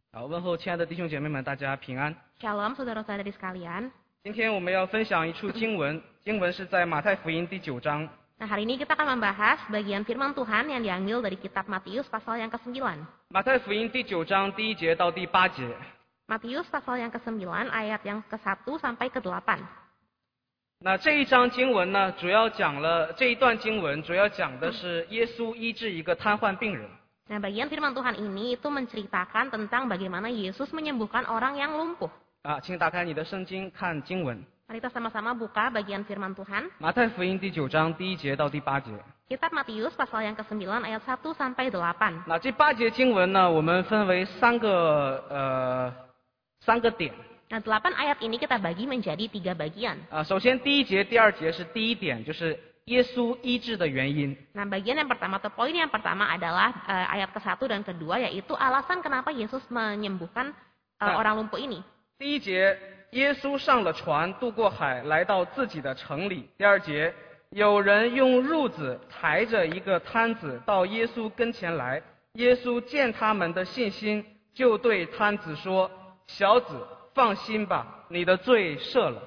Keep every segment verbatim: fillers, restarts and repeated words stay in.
好，问候亲爱的弟兄姐妹们，大家平安。 Shalom saudara-saudari sekalian. 今天我们要分享一处经文，经文是在马太福音第九章。 Nah, hari ini kita akan membahas bagian firman Tuhan yang diambil dari kitab Matius pasal yang kesembilan. 马太福音第九章第一节到第八节。 Matius pasal yang kesembilan ayat yang ke satu sampai ke delapan. 那这一章经文呢，主要讲了这一段经文主要讲的是耶稣医治一个瘫痪病人。 Nah, bagian firman Tuhan ini itu menceritakan tentang bagaimana Yesus menyembuhkan orang yang lumpuh. 啊，请打开你的圣经看经文。 Mari kita sama-sama buka bagian firman Tuhan. 马太福音第九章第一节到第八节。 Kitab Matius pasal yang kesembilan ayat satu sampai delapan. 那这八节经文呢，我们分为三个呃三个点。 Nah, delapan ayat ini kita bagi menjadi tiga bagian. 啊，首先第一节、第二节是第一点，就是耶稣医治的原因。 Nah, bagian yang pertama atau poin yang pertama adalah uh, ayat ke satu dan kedua, yaitu alasan kenapa Yesus menyembuhkan uh, Nah. orang lumpuh ini. 第一节，耶稣上了船，渡过海，来到自己的城里。第二节，有人用褥子抬着一个摊子到耶稣跟前来，耶稣见他们的信心，就对摊子说：“小子，放心吧，你的罪赦了。”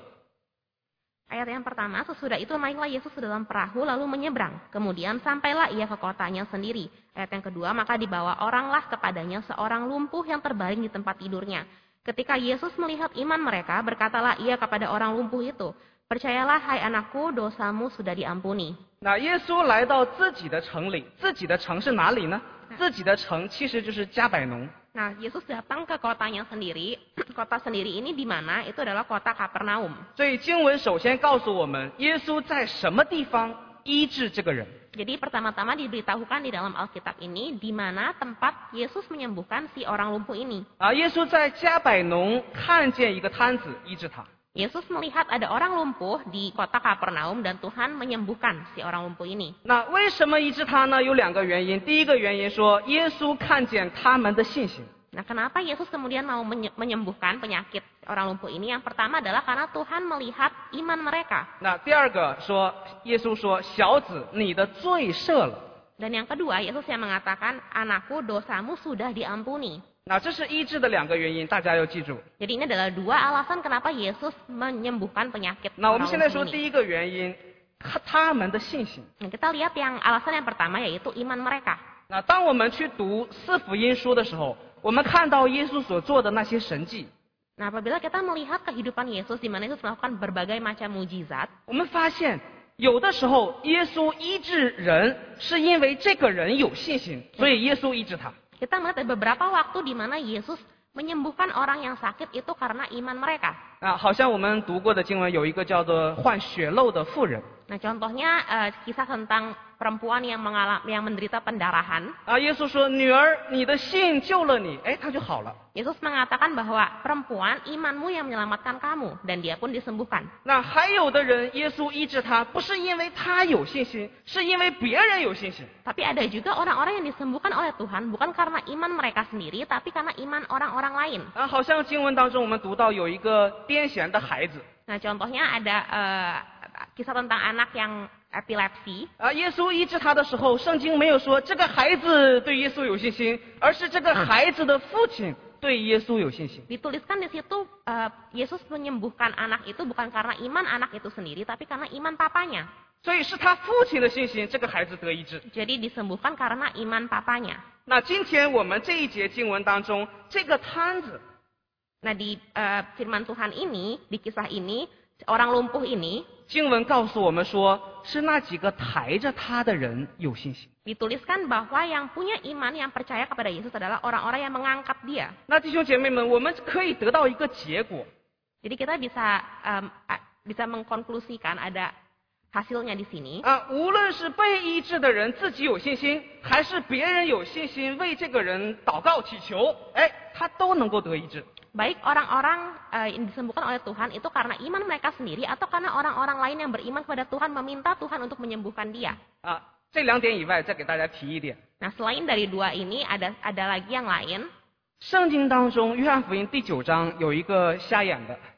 Ayat yang pertama, sesudah itu naiklah Yesus ke dalam perahu lalu menyeberang. Kemudian sampailah ia ke kotanya sendiri. Ayat yang kedua, maka dibawa oranglah kepadanya seorang lumpuh yang terbaring di tempat tidurnya. Ketika Yesus melihat iman mereka, berkatalah ia kepada orang lumpuh itu, "Percayalah, hai anakku, dosamu sudah diampuni." 那耶稣来到自己的城里，自己的城是哪里呢？自己的城其实就是加百农。 Nah, Yesus datang ke kotanya sendiri. Kota sendiri ini di mana? Itu adalah kota Kapernaum. 所以经文首先告诉我们，耶稣在什么地方医治这个人。 Jadi pertama-tama diberitahukan di dalam Alkitab ini di mana tempat Yesus menyembuhkan si orang lumpuh ini. 啊，耶稣在加百农看见一个摊子，医治他。 Yesus melihat ada orang lumpuh di kota Kapernaum dan Tuhan menyembuhkan si orang lumpuh ini. 那为什么医治他呢？有两个原因。第一个原因说，耶稣看见他们的信心。 Nah, kenapa Yesus kemudian mau menye- menyembuhkan penyakit orang lumpuh ini? Yang pertama adalah karena Tuhan melihat iman mereka. 那第二个说，耶稣说：“小子，你的罪赦了。” Dan yang kedua, Yesus yang mengatakan, "Anakku, dosamu sudah diampuni." 那这是医治的两个原因，大家要记住。 Jadi ini adalah dua alasan kenapa Yesus menyembuhkan penyakit 那我们 orang 现在 lumpuh 说 ini. 第一个原因，他他们的信心。 Nah, kita lihat yang alasan yang pertama yaitu iman mereka. 那当我们去读四福音书的时候，我们看到耶稣所做的那些神迹， Nah, apabila kita melihat kehidupan Yesus di mana Yesus melakukan berbagai macam mujizat, 我们发现有的时候耶稣医治人是因为这个人有信心，所以耶稣医治他。 kita melihat ada beberapa waktu di mana Yesus menyembuhkan orang yang sakit itu karena iman mereka. 啊，好像我们读过的经文有一个叫做患血漏的妇人。 Nah, contohnya eh, kisah tentang perempuan yang mengalami yang menderita pendarahan. 啊，耶稣说：“女儿，你的信救了你。”哎，他就好了。 Yesus mengatakan bahwa perempuan imanmu yang menyelamatkan kamu dan dia pun disembuhkan. 那还有的人，耶稣医治他，不是因为他有信心，是因为别人有信心。 Tapi ada juga orang-orang yang disembuhkan oleh Tuhan bukan karena iman mereka sendiri tapi karena iman orang-orang lain. 啊，好像经文当中我们读到有一个癫痫的孩子。 Nah, contohnya ada eh, kisah tentang anak yang epilepsi. 啊，耶稣医治他的时候，圣经没有说这个孩子对耶稣有信心，而是这个孩子的父亲对耶稣有信心。 Dituliskan di situ eh, Yesus menyembuhkan anak itu bukan karena iman anak itu sendiri tapi karena iman papanya. 所以是他父亲的信心，这个孩子得医治。 Jadi disembuhkan karena iman papanya. 那今天我们这一节经文当中，这个摊子 Nah, di eh, firman Tuhan ini, di kisah ini, orang lumpuh ini 经文告诉我们说，是那几个抬着他的人有信心。 dituliskan bahwa yang punya iman yang percaya kepada Yesus adalah orang-orang yang mengangkat dia. 那弟兄姐妹们，我们可以得到一个结果， Jadi kita bisa em, a- bisa mengkonklusikan ada hasilnya di sini. 啊，无论是被医治的人自己有信心，还是别人有信心为这个人祷告祈求，哎，他都能够得医治。 Baik orang-orang eh, yang disembuhkan oleh Tuhan itu karena iman mereka sendiri atau karena orang-orang lain yang beriman kepada Tuhan meminta Tuhan untuk menyembuhkan dia. 啊，这两点以外，再给大家提一点， Nah, selain dari dua ini ada ada lagi yang lain. 圣经当中约翰福音第九章有一个瞎眼的，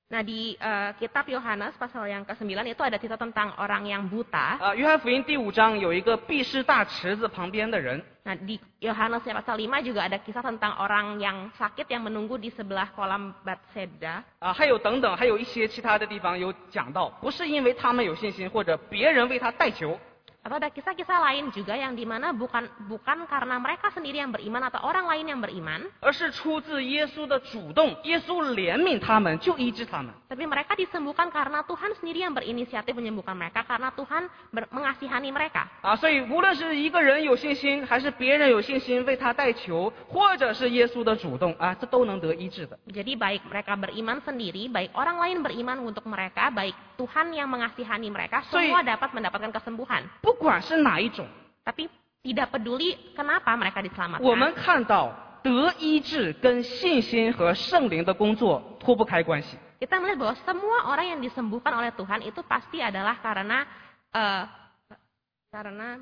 Nah, di eh, kitab Yohanes pasal yang kesembilan itu ada cerita tentang orang yang buta. 啊，约翰福音第五章有一个闭士大池子旁边的人， Nah, di Yohanes pasal lima juga ada kisah tentang orang yang sakit yang menunggu di sebelah kolam Bethesda. 啊，还有等等，还有一些其他的地方有讲到，不是因为他们有信心或者别人为他代求， Atau ada kisah-kisah lain juga yang dimana bukan bukan karena mereka sendiri yang beriman atau orang lain yang beriman, 而是出自耶稣的主动，耶稣怜悯他们，就医治他们。 tapi mereka disembuhkan karena Tuhan sendiri yang berinisiatif menyembuhkan mereka karena Tuhan ber- mengasihani mereka. 啊，所以无论是一个人有信心，还是别人有信心为他代求，或者是耶稣的主动啊，这都能得医治的。 Jadi baik mereka beriman sendiri, baik orang lain beriman untuk mereka, baik Tuhan yang mengasihani mereka, So, semua dapat mendapatkan kesembuhan. 不管是哪一种， Tapi tidak peduli kenapa mereka 我们 diselamatkan. 看到得医治跟信心和圣灵的工作脱不开关系。 Kita melihat bahwa semua orang yang disembuhkan oleh Tuhan itu pasti adalah karena eh, karena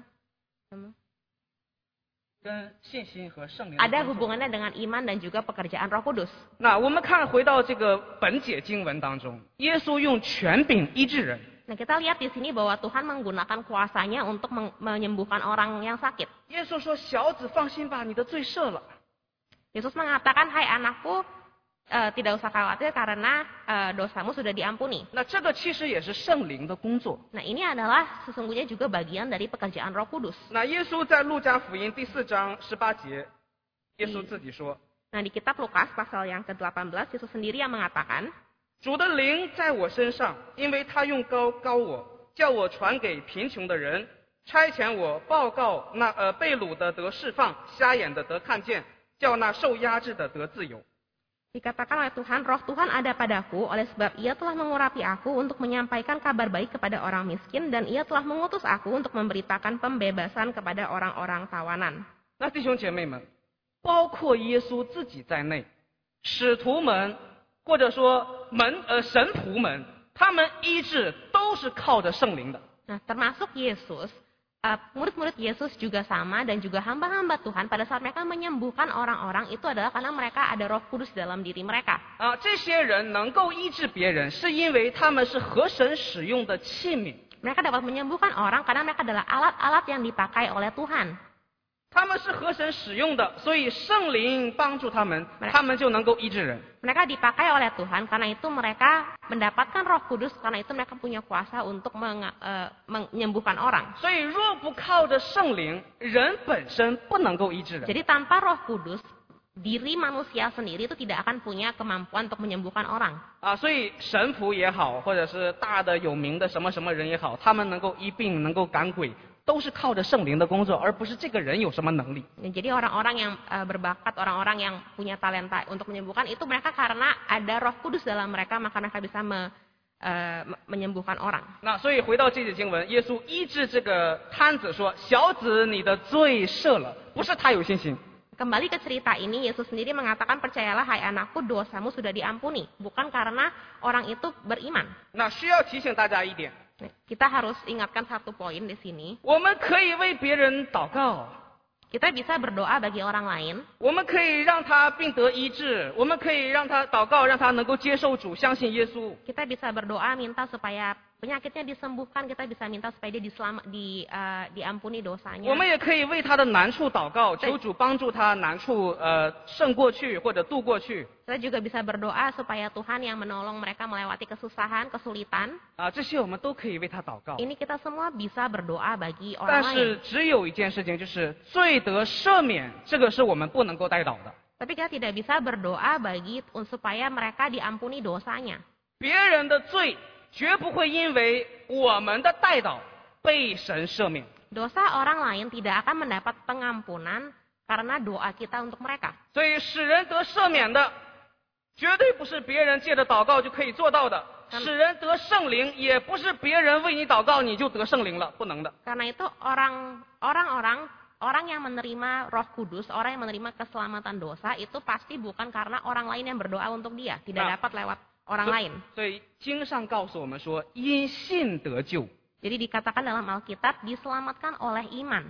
跟信心和圣灵 ada hubungannya dengan iman dan juga pekerjaan Roh Kudus. 那我们看回到这个本节经文当中，耶稣用权柄医治人。 Nah, kita lihat di sini bahwa Tuhan menggunakan kuasanya untuk meng- menyembuhkan orang yang sakit. 耶稣说：“小子，放心吧，你的罪赦了。 Yesus mengatakan, "Hai anakku, eh, tidak usah khawatir karena eh, dosamu sudah diampuni." ” 那这个其实也是圣灵的工作。 Nah, ini adalah sesungguhnya juga bagian dari pekerjaan Roh Kudus. 那耶稣在路加福音第四章十八节，耶稣自己说 Nah, di kitab Lukas pasal yang ke delapan belas, Yesus sendiri yang mengatakan, 主的灵在我身上，因为他用膏膏我，叫我传给贫穷的人，差遣我报告那呃被掳的得释放，瞎眼的得看见，叫那受压制的得自由。 dikatakan oleh Tuhan, "Roh Tuhan ada padaku, oleh sebab Ia telah mengurapi aku untuk menyampaikan kabar baik kepada orang miskin, dan Ia telah mengutus aku untuk memberitakan pembebasan kepada orang-orang tawanan." 那弟兄姐妹们，包括耶稣自己在内，使徒们或者说门呃神仆们，他们医治都是靠着圣灵的。 Nah, termasuk Yesus, eh, murid-murid Yesus juga sama dan juga hamba-hamba Tuhan pada saat mereka menyembuhkan orang-orang itu adalah karena mereka ada Roh Kudus dalam diri mereka. 啊，这些人能够医治别人，是因为他们是合神使用的器皿， Mereka dapat menyembuhkan orang karena mereka adalah alat-alat yang dipakai oleh Tuhan. 他们是合神使用的，所以圣灵帮助他们，他们就能够医治人。 Mereka dipakai oleh Tuhan, karena itu mereka mendapatkan Roh Kudus, karena itu mereka punya kuasa untuk menga- eh, menyembuhkan orang. 所以若不靠着圣灵，人本身不能够医治人。 Jadi tanpa Roh Kudus, diri manusia sendiri itu tidak akan punya kemampuan untuk menyembuhkan orang. 啊，所以神仆也好，或者是大的有名的什么什么人也好，他们能够医病，能够赶鬼，都是靠着圣灵的工作，而不是这个人有什么能力。 Ya, jadi orang-orang yang eh, berbakat, orang-orang yang punya talenta untuk menyembuhkan itu mereka karena ada Roh Kudus dalam mereka, maka mereka bisa me- eh, me- menyembuhkan orang. 那所以回到这节经文，耶稣医治这个摊子说：“小子，你的罪赦了。”不是他有信心， Kembali ke cerita ini, Yesus sendiri mengatakan, "Percayalah hai anakku, dosamu sudah diampuni." Bukan karena orang itu beriman. 那需要提醒大家一点， Nah, kita harus ingatkan satu poin di sini. 我们可以为别人祷告， Kita bisa berdoa bagi orang lain. 我们可以让他病得医治，我们可以让他祷告，让他能够接受主，相信耶稣。 Kita bisa berdoa minta supaya penyakitnya disembuhkan. Kita bisa minta supaya dia diselama, di, eh, diampuni dosanya. 我们也可以为他的难处祷告，求主帮助他难处呃胜过去或者度过去 Kita juga bisa berdoa supaya Tuhan yang menolong mereka melewati kesusahan, kesulitan. 啊，这些我们都可以为他祷告。 Ini kita semua bisa berdoa bagi 但 orang 是 lain. 只有一件事情，就是罪得赦免，这个是我们不能够代祷的。 Tapi kita tidak bisa berdoa bagi supaya mereka diampuni dosanya. 别人的罪绝不会因为我们的代祷被神赦免。 Dosa orang lain tidak akan mendapat pengampunan karena doa kita untuk mereka. 所以使人得赦免的，绝对不是别人借着祷告就可以做到的。使人得圣灵，也不是别人为你祷告你就得圣灵了，不能的。 Karena itu orang orang-orang orang yang menerima Roh Kudus, orang yang menerima keselamatan dosa itu pasti bukan karena orang lain yang berdoa untuk dia, tidak Nah. dapat lewat orang lain. 所以经上告诉我们说，因信得救， Jadi dikatakan dalam Alkitab diselamatkan oleh iman.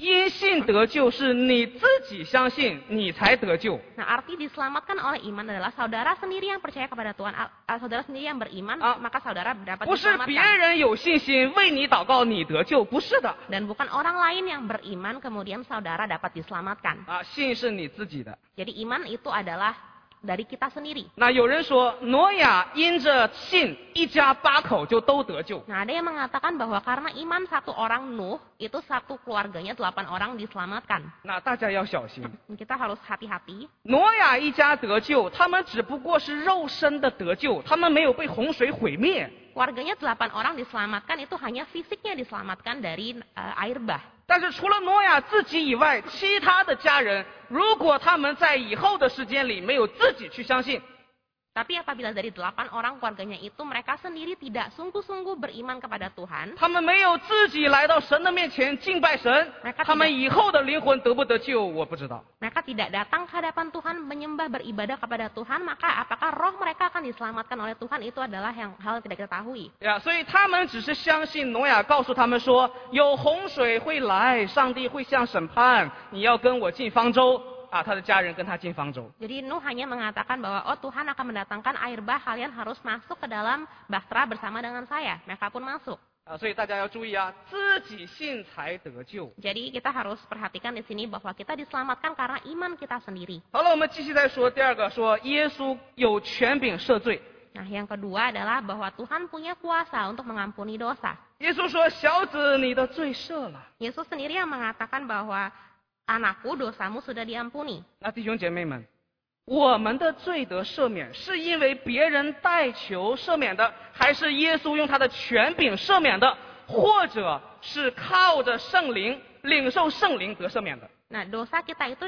因信得救是你自己相信，你才得救。 Nah, arti diselamatkan oleh iman adalah saudara sendiri yang percaya kepada Tuhan, ah, ah, saudara sendiri yang beriman, Ah. maka saudara dapat 不是别 diselamatkan. 人有信心为你祷告，你得救，不是的 Dan bukan orang lain yang beriman kemudian saudara dapat diselamatkan. 啊，信是你自己的。 Jadi iman itu adalah dari kita sendiri. 那有人说，挪亚因着信，一家八口就都得救。 Nah, ada yang mengatakan bahwa karena iman satu orang Nuh, itu satu keluarganya delapan orang diselamatkan. 那大家要小心， Kita harus hati-hati. 挪亚一家得救，他们只不过是肉身的得救，他们没有被洪水毁灭。 Keluarganya delapan orang diselamatkan itu hanya fisiknya diselamatkan dari uh, air bah. 但是除了挪亚自己以外，其他的家人，如果他们在以后的时间里没有自己去相信， Tapi apabila dari delapan orang keluarganya itu mereka sendiri tidak sungguh-sungguh beriman kepada Tuhan, 他们没有自己来到神的面前敬拜神， mereka 他们 tidak, 以后的灵魂得不得救，我不知道。 mereka tidak datang ke hadapan Tuhan menyembah beribadah kepada Tuhan, maka apakah roh mereka akan diselamatkan oleh Tuhan itu adalah yang hal yang tidak kita tahui. 呀，所以他们只是相信挪亚告诉他们说，有洪水会来，上帝会向审判，你要跟我进方舟。 啊，他的家人跟他进方舟。 Jadi Nuh hanya mengatakan bahwa oh Tuhan akan mendatangkan air bah, kalian harus masuk ke dalam bahtera bersama dengan saya. Mereka pun masuk. 啊，所以大家要注意啊，自己信才得救。 Jadi kita harus perhatikan di sini bahwa kita diselamatkan karena iman kita sendiri. 好了，我们继续再说第二个，说耶稣有权柄赦罪。 Nah, yang kedua adalah bahwa Tuhan punya kuasa untuk mengampuni dosa. 耶稣说：“小子，你的罪赦了。 Yesus sendiri yang mengatakan bahwa anakku dosamu sudah diampuni. ” 那弟兄姐妹们，我们的罪得赦免，是因为别人代求赦免的，还是耶稣用他的权柄赦免的，或者是靠着圣灵领受圣灵得赦免的？ Nah, dosa kita itu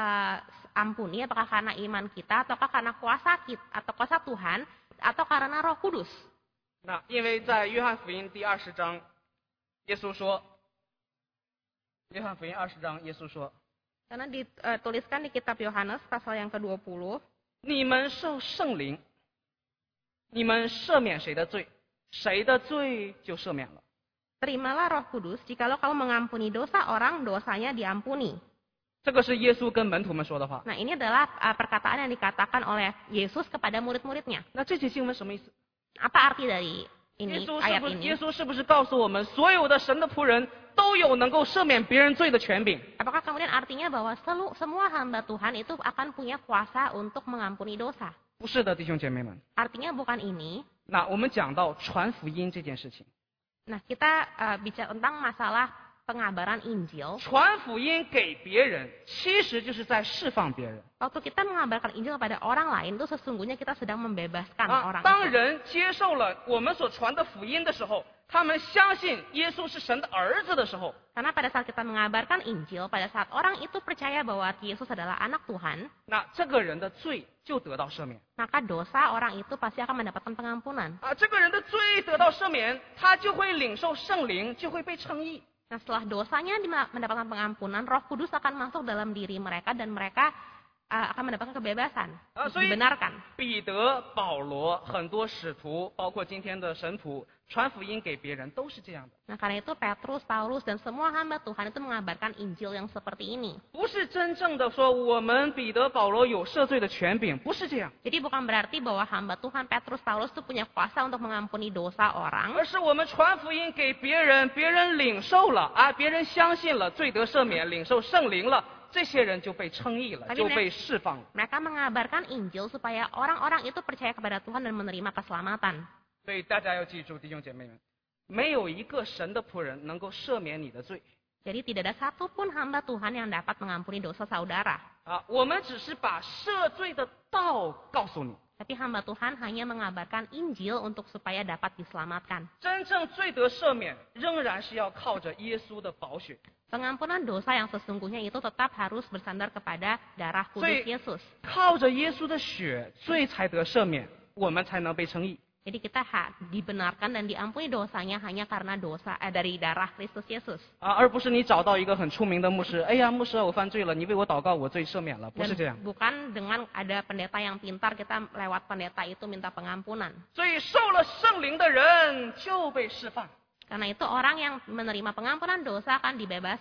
diampuni apakah karena iman kita, ataukah karena kuasa kita, atau kuasa Tuhan, atau karena Roh Kudus? 那因为在约翰福音第二十章，耶稣说。 约翰福音二十章，耶稣说 Karena dituliskan di kitab Yohanes pasal yang kedua puluh,：“ 你们受圣灵，你们赦免谁的罪，谁的罪就赦免了。 terimalah Roh Kudus, jikalau kamu mengampuni dosa orang, dosanya diampuni. ” 这个是耶稣跟门徒们说的话。 Nah, ini adalah uh, perkataan yang dikatakan oleh Yesus kepada murid-muridnya. 那这节经文什么意思？ Apa arti dari 耶 ini 稣是 ayat 不是 ini? 耶稣是不是告诉我们，所有的神的仆人都有能够赦免别人罪的权柄？ Apakah kemudian artinya bahwa selu, semua hamba Tuhan itu akan punya kuasa untuk mengampuni dosa? 不是的，弟兄姐妹们。 Artinya bukan ini. 那我们讲到传福音这件事情， Nah, kita uh, bicara tentang masalah pengabaran Injil. 传福音给别人，其实就是在释放别人。 Waktu kita mengabarkan Injil kepada orang lain, itu sesungguhnya kita sedang membebaskan 啊， orang 当 itu. 人接受了我们所传的福音的时候，他们相信耶稣是神的儿子的时候， Karena pada saat kita mengabarkan Injil, pada saat orang itu percaya bahwa Yesus adalah anak Tuhan, 那这个人的罪就得到赦免。 maka dosa orang itu pasti akan mendapatkan pengampunan. 啊，这个人的罪得到赦免，他就会领受圣灵，就会被称义。 Nah, setelah dosanya dima- mendapatkan pengampunan, Roh Kudus akan masuk dalam diri mereka dan mereka uh, akan mendapatkan kebebasan, 啊，所以 dibenarkan. 彼得、保罗很多使徒，包括今天的神仆，传福音给别人都是这样的， Nah, karena itu Petrus, Paulus, dan semua hamba Tuhan itu mengabarkan Injil yang seperti ini. 不是真正的说我们彼得、保罗有赦罪的权柄，不是这样， Jadi bukan berarti bahwa hamba Tuhan Petrus, Paulus itu punya kuasa untuk mengampuni dosa orang, 而是我们传福音给别人，别人领受了啊，别人相信了，罪得赦免，领受圣灵了，这些人就被称义了， Tapi 就被释放了。 mereka mengabarkan Injil supaya orang-orang itu percaya kepada Tuhan dan menerima keselamatan. 所以大家要记住，弟兄姐妹们，没有一个神的仆人能够赦免你的罪 Jadi tidak ada satupun hamba Tuhan yang dapat mengampuni dosa saudara. 啊，我们只是把赦罪的道告诉你。 Tapi hamba Tuhan hanya mengabarkan Injil untuk supaya dapat diselamatkan. 真正罪得赦免，仍然是要靠着耶稣的宝血。 Pengampunan dosa yang sesungguhnya itu tetap harus bersandar kepada darah kudus 所以 Yesus. 靠着耶稣的血，罪才得赦免，我们才能被称义。 Jadi kita ha- dibenarkan dan diampuni dosanya hanya karena dosa eh, dari darah Kristus Yesus. 啊，而不是你找到一个很出名的牧师，哎呀，牧师我犯罪了，你为我祷告，我罪赦免了，不是这样。 Dan bukan dengan ada pendeta yang pintar kita lewat pendeta itu minta pengampunan. 所以受了圣灵的人就被释放。 Karena itu orang yang menerima pengampunan dosa akan dibebaskan.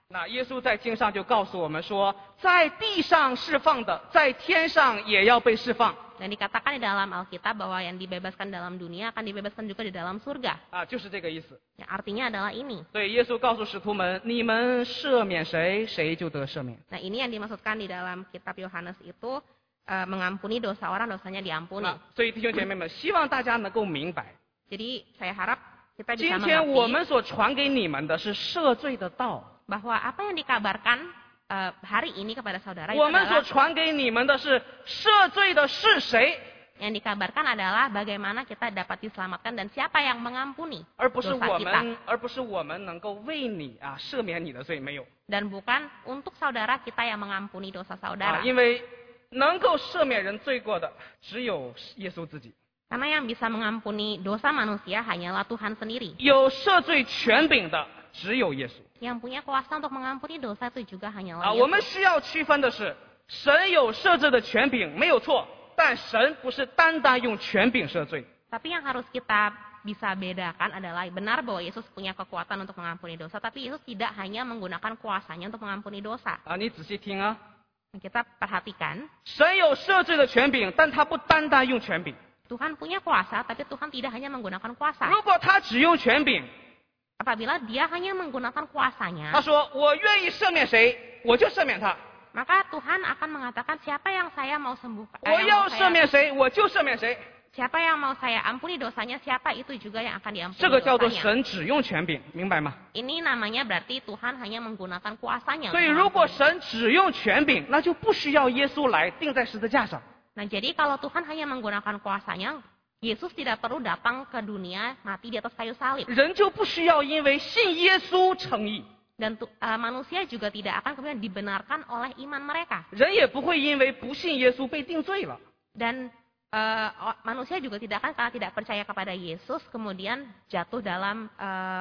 那耶稣在经上就告诉我们说，在地上释放的，在天上也要被释放。 Dan dikatakan di dalam Alkitab bahwa yang dibebaskan dalam dunia akan dibebaskan juga di dalam surga. 啊，就是这个意思。 Ya, artinya adalah ini. 所以耶稣告诉使徒们，你们赦免谁，谁就得赦免。 Nah, ini yang dimaksudkan di dalam kitab Yohanes itu eh, mengampuni dosa orang, dosanya diampuni. 啊，所以弟兄姐妹们，希望大家能够明白， Jadi saya harap kita 今 bisa 天我 mengerti 们所传给你们的是赦罪的道， bahwa apa yang dikabarkan eh, hari ini kepada saudara itu 我们所 adalah 传给你们的是赦罪的是谁， yang dikabarkan adalah bagaimana kita dapat diselamatkan dan siapa yang mengampuni 而不是 dosa 我 kita. 们，而不是我们能够为你啊赦免你的罪，没有 Dan bukan untuk saudara kita yang mengampuni dosa 啊 saudara. ， 因为能够赦免人罪过的只有耶稣自己， Karena yang bisa mengampuni dosa manusia hanyalah Tuhan sendiri. 有赦罪权柄的只有耶稣 Yang punya kuasa untuk mengampuni dosa itu juga 啊。 hanyalah 我们 Yesus. 需要区分的是，神有赦罪的权柄没有错，但神不是单单用权柄赦罪。 Tapi yang harus kita bisa bedakan adalah benar bahwa Yesus punya kekuatan untuk mengampuni dosa, tapi Yesus tidak hanya menggunakan kuasanya untuk mengampuni dosa. 啊，你仔细听啊， Kita perhatikan, 神有赦罪的权柄，但他不单单用权柄。 Tuhan punya kuasa, tapi Tuhan tidak hanya menggunakan kuasa. 如果他只用权柄， Apabila dia hanya menggunakan 他 kuasanya, 说我愿意赦免谁，我就赦免他； maka Tuhan akan mengatakan siapa yang saya mau sembuhkan, eh, 我 yang 要 mau 赦 saya, 免谁，我就赦免谁。 siapa yang mau saya ampuni dosanya, siapa itu juga yang akan 这 diampuni 个叫做 dosanya. 神只用权柄，明白吗？ Ini namanya berarti Tuhan hanya menggunakan kuasanya. 所以 untuk 如果 mengampuni. 神只用权柄，那就不需要耶稣来钉在十字架上。 Nah, jadi kalau Tuhan hanya menggunakan kuasanya, Yesus tidak perlu datang ke dunia mati di atas kayu salib. 人就不需要因为信耶稣称义， Dan tu- eh, manusia juga tidak akan kemudian dibenarkan oleh iman mereka. 人也不会因为不信耶稣被定罪了。 Dan eh, o- manusia juga tidak akan karena tidak percaya kepada Yesus kemudian jatuh dalam eh,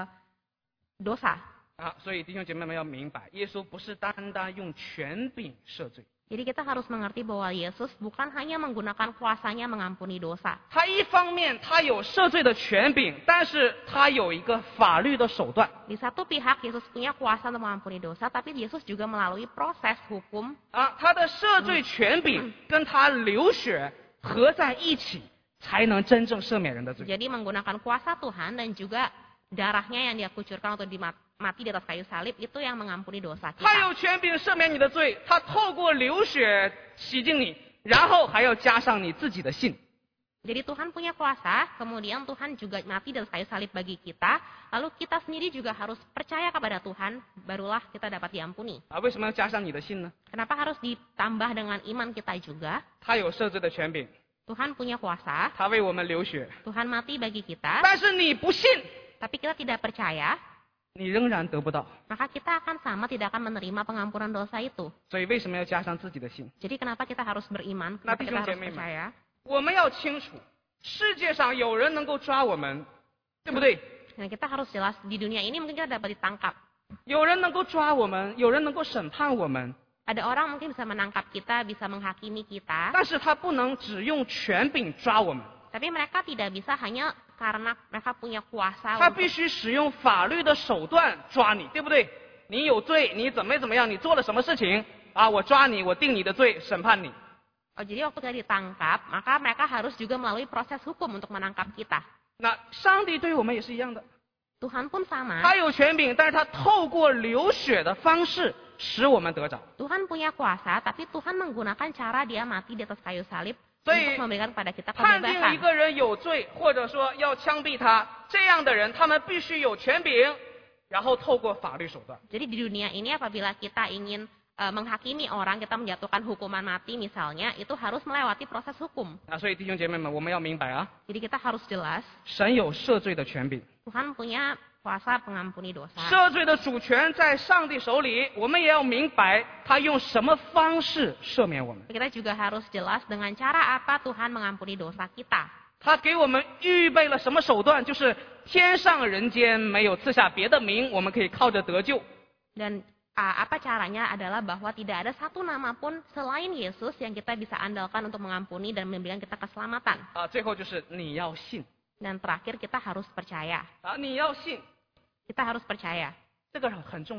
dosa. 啊，所以弟兄姐妹们要明白，耶稣不是单单用权柄赦罪， Jadi kita harus mengerti bahwa Yesus bukan hanya menggunakan kuasanya mengampuni dosa. 他一方面他有赦罪的权柄，但是他有一个法律的手段 Di satu pihak Yesus punya kuasa untuk mengampuni dosa, tapi Yesus juga melalui proses hukum 啊，他的赦罪权柄跟他流血合在一起，才能真正赦免人的罪。 Jadi menggunakan kuasa Tuhan dan juga darahnya yang dia kucurkan untuk dimati mati di atas kayu salib itu yang mengampuni dosa 他 kita. 有权柄赦免你的罪，他透过流血洗净你，然后还要加上你自己的信。 Jadi Tuhan punya kuasa, kemudian Tuhan juga mati di atas kayu salib bagi kita, lalu kita sendiri juga harus percaya kepada Tuhan, barulah kita dapat diampuni. 啊，为什么要加上你的信呢？ Kenapa harus ditambah dengan iman kita juga? 他有赦罪的权柄， Tuhan punya kuasa, 他为我们流血， Tuhan mati bagi kita, 但是你不信， tapi kita tidak percaya, 你仍然得不到。 maka kita akan sama tidak akan menerima pengampunan dosa itu. 所以为什么要加上自己的信？ Jadi kenapa kita harus beriman? Nah, Kenapa kita harus 弟兄姐妹们。 percaya? 我们要清楚，世界上有人能够抓我们，对不对？ Nah, kita harus jelas di dunia ini mungkin kita dapat ditangkap. 有人能够抓我们，有人能够审判我们， Ada orang mungkin bisa menangkap kita, bisa menghakimi kita, 但是他不能只用权柄抓我们， tapi mereka tidak bisa hanya karena mereka punya kuasa 他 untuk 必须使用法律的手段抓你，对不对？你有罪，你怎么怎么样？你做了什么事情啊？我抓你，我定你的罪，审判你。 Oh, jadi waktu kita ditangkap, maka mereka harus juga melalui proses hukum untuk menangkap kita. 那上帝对我们也是一样的， Tuhan pun sama. 他有权柄，但是他透过流血的方式使我们得着。 Tuhan punya kuasa, tapi Tuhan menggunakan cara dia mati di atas kayu salib 所以 untuk memberikan kepada kita 判定一 kebebasan. 个人有罪，或者说要枪毙他，这样的人，他们必须有权柄，然后透过法律手段。 Jadi di dunia ini apabila kita ingin eh, menghakimi orang, kita menjatuhkan hukuman mati misalnya, itu harus melewati proses hukum. 啊，所以弟兄姐妹们，我们要明白啊， Jadi kita harus jelas, 神有赦罪的权柄， Tuhan punya kuasa pengampuni dosa. 赦罪的主权在上帝手里，我们也要明白他用什么方式赦免我们。 Kita juga harus jelas dengan cara apa Tuhan mengampuni dosa kita. 他给我们预备了什么手段？就是天上人间没有赐下别的名，我们可以靠着得救。 Dan ah, apa caranya adalah bahwa tidak ada satu nama pun selain Yesus yang kita bisa andalkan untuk mengampuni dan memberikan kita keselamatan. 啊，最后就是你要信 Dan terakhir kita harus percaya. 啊，你要信， Kita harus percaya. 这个很重要。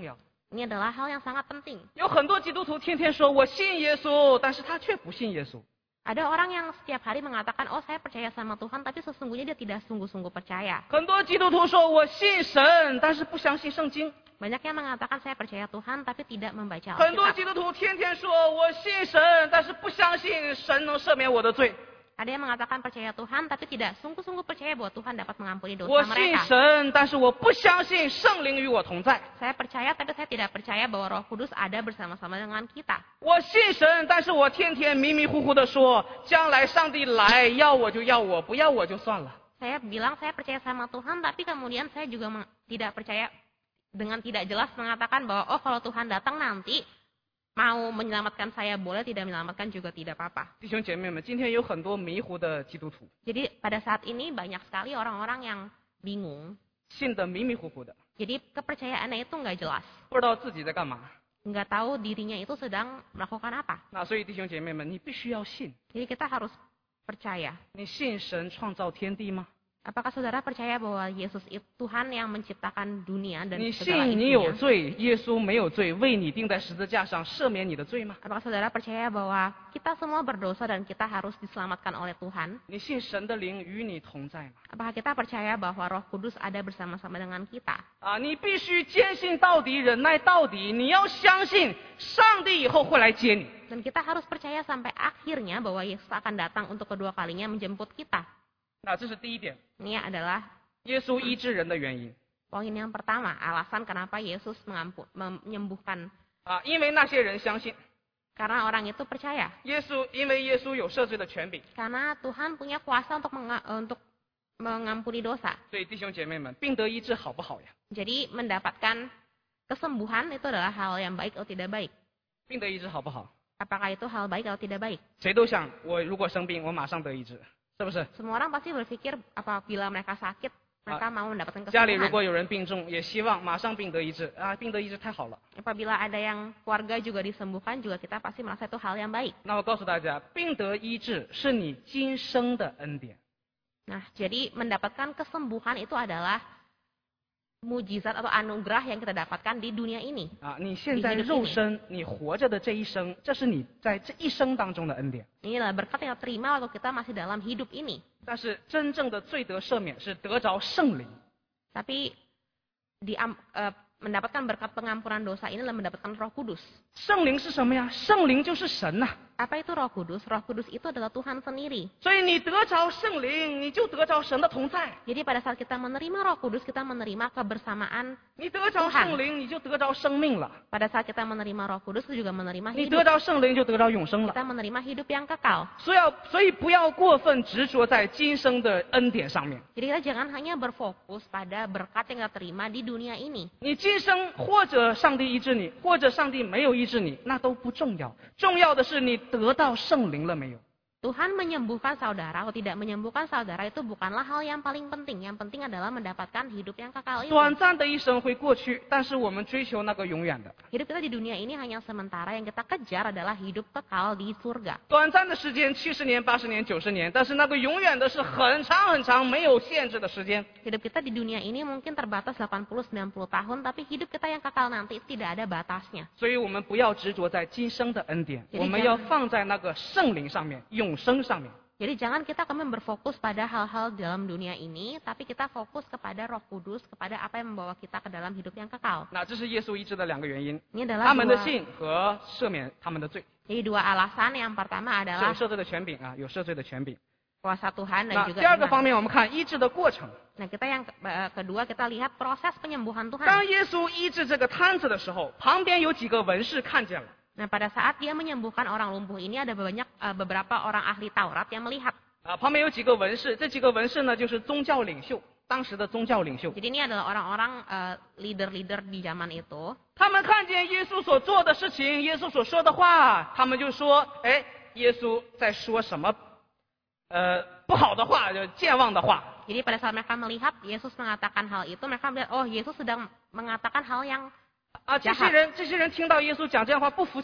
Ini adalah hal yang sangat penting. 有很多基督徒天天说我信耶稣，但是他却不信耶稣。 Ada orang yang setiap hari mengatakan, oh saya percaya sama Tuhan, tapi sesungguhnya dia tidak sungguh-sungguh percaya. 很多基督徒说我信神，但是不相信圣经。 Banyak yang mengatakan saya percaya Tuhan, tapi tidak membaca 很多 Alkitab. 基督徒天天说我信神，但是不相信神能赦免我的罪。 Ada yang mengatakan percaya Tuhan, tapi tidak sungguh-sungguh percaya bahwa Tuhan dapat mengampuni 我 dosa 信 mereka. 神，但是我不相信圣灵与我同在。 Saya percaya, tapi saya tidak percaya bahwa Roh Kudus ada bersama-sama dengan kita. 我信神，但是我天天迷迷糊糊的说，将来上帝来要我就要我，不要我就算了。 Saya bilang saya percaya sama Tuhan, tapi kemudian saya juga meng- tidak percaya dengan tidak jelas mengatakan bahwa oh kalau Tuhan datang nanti mau menyelamatkan saya boleh, tidak menyelamatkan juga tidak apa-apa. 弟兄姐妹们，今天有很多迷糊的基督徒， Jadi pada saat ini banyak sekali orang-orang yang bingung. 信得迷迷糊糊的， Jadi kepercayaannya itu nggak jelas. 不知道自己在干嘛。 Nggak tahu dirinya itu sedang melakukan apa. 那所以弟兄姐妹们，你必须要信。 Jadi kita harus percaya. 你信神创造天地吗？ Apakah saudara percaya bahwa Yesus itu Tuhan yang menciptakan dunia dan 你 segala 信你有 isinya? 罪，耶稣没有罪，为你钉在十字架上赦免你的罪吗？ Apakah saudara percaya bahwa kita semua berdosa dan kita harus diselamatkan oleh Tuhan? 你信神的灵与你同在吗？ Apakah kita percaya bahwa Roh Kudus ada bersama-sama dengan kita? 啊，你必须坚信到底，忍耐到底。你要相信上帝以后会来接你。 Dan kita harus percaya sampai akhirnya bahwa Yesus akan datang untuk kedua kalinya menjemput kita. 那这是第一点， Ini adalah 耶稣医治人的原因 poin yang pertama, alasan kenapa Yesus mengampu, menyembuhkan. 啊，因为那些人相信 Karena orang itu percaya. 耶稣，因为耶稣有赦罪的权柄， Karena Tuhan punya kuasa untuk menga- untuk mengampuni dosa. 所以弟兄姐妹们，病得医治好不好呀？ Jadi mendapatkan kesembuhan itu adalah hal yang baik atau tidak baik. 病得医治好不好？ Apakah itu hal baik atau tidak baik? 谁都想我如果生病，我马上得医治，是不是？ Semua orang pasti berpikir apabila mereka sakit, mereka mau mendapatkan 家里如 kesembuhan. 果有人病重，也希望马上病得医治啊，病得医治太好了。 Apabila ada yang keluarga juga disembuhkan, juga kita pasti merasa itu hal yang baik. 那我告诉大家，病得医治是你今生的恩典。 Nah, jadi mendapatkan kesembuhan itu adalah mujizat atau anugerah yang kita dapatkan di dunia ini. 啊，你现在肉身你活着的这一生，这是你在这一生当中的恩典。 Ini adalah berkat yang kita terima waktu kita masih dalam hidup ini. 但是真正的罪得赦免是得着圣灵。 Tapi di, eh, mendapatkan berkat pengampunan dosa ini adalah mendapatkan Roh Kudus. 圣灵是什么呀？圣灵就是神呐、 Apa itu Roh Kudus? Roh Kudus itu adalah Tuhan sendiri. 所以你得着圣灵，你就得着神的同在； Jadi pada saat kita menerima Roh Kudus, kita menerima kebersamaan. 你得着圣灵，你就得着生命了； Pada saat kita menerima Roh Kudus, kita juga menerima 你得 hidup. 着圣灵，就得着永生了。 Kita menerima hidup yang kekal. 所以要，所以不要过分执着在今生的恩典上面。 Jadi kita jangan hanya berfokus pada berkat yang kita terima di dunia ini. 你今生或者上帝医治你，或者上帝没有医治你，那都不重要。重要的是你得到圣灵了没有？ Tuhan menyembuhkan saudara atau tidak menyembuhkan saudara itu bukanlah hal yang paling penting. Yang penting adalah mendapatkan hidup yang kekal itu. 短暂的一生会过去，但是我们追求那个永远的。 Hidup kita di dunia ini hanya sementara, yang kita kejar adalah hidup kekal di surga. 短暂的时间，七十年、八十年、九十年，但是那个永远的是很长很长，没有限制的时间。 Hidup kita di dunia ini mungkin terbatas delapan puluh sampai sembilan puluh tahun, tapi hidup kita yang kekal nanti tidak ada batasnya. 所以我们不要执着在今生的恩典， Jadi 我们 jangan- 要放在那个圣灵上面、永生上面。 Jadi jangan kita kami berfokus pada hal-hal dalam dunia ini, tapi kita fokus kepada Roh Kudus, kepada apa yang membawa kita ke dalam hidup yang kekal. 那这是耶稣医治的两个原因， Ini adalah 他们的 dua, 信和赦免他们的罪， jadi dua alasan. Yang pertama 是有 adalah 赦罪的权柄啊，有赦罪的权柄。 kuasa Tuhan dan 那 juga 第二个 iman. 方面，我们看医治的过程。 Nah, kita yang ke- eh, kedua kita lihat proses penyembuhan 当 Tuhan. 耶稣医治这个摊子的时候，旁边有几个文士看见了。 Nah, pada saat dia menyembuhkan orang lumpuh ini ada banyak eh, beberapa orang ahli Taurat yang melihat. 啊，旁边有几个文士，这几个文士呢，就是宗教领袖，当时的宗教领袖。 Jadi ini adalah orang-orang eh, leader-leader di zaman itu. 他们看见耶稣所做的事情，耶稣所说的话，他们就说：“哎，耶稣在说什么？呃，不好的话，就健忘的话。 Jadi pada saat mereka melihat Yesus mengatakan hal itu, mereka melihat, oh Yesus sedang mengatakan hal yang 啊，这些人，这些人听到耶稣讲这样话不服气，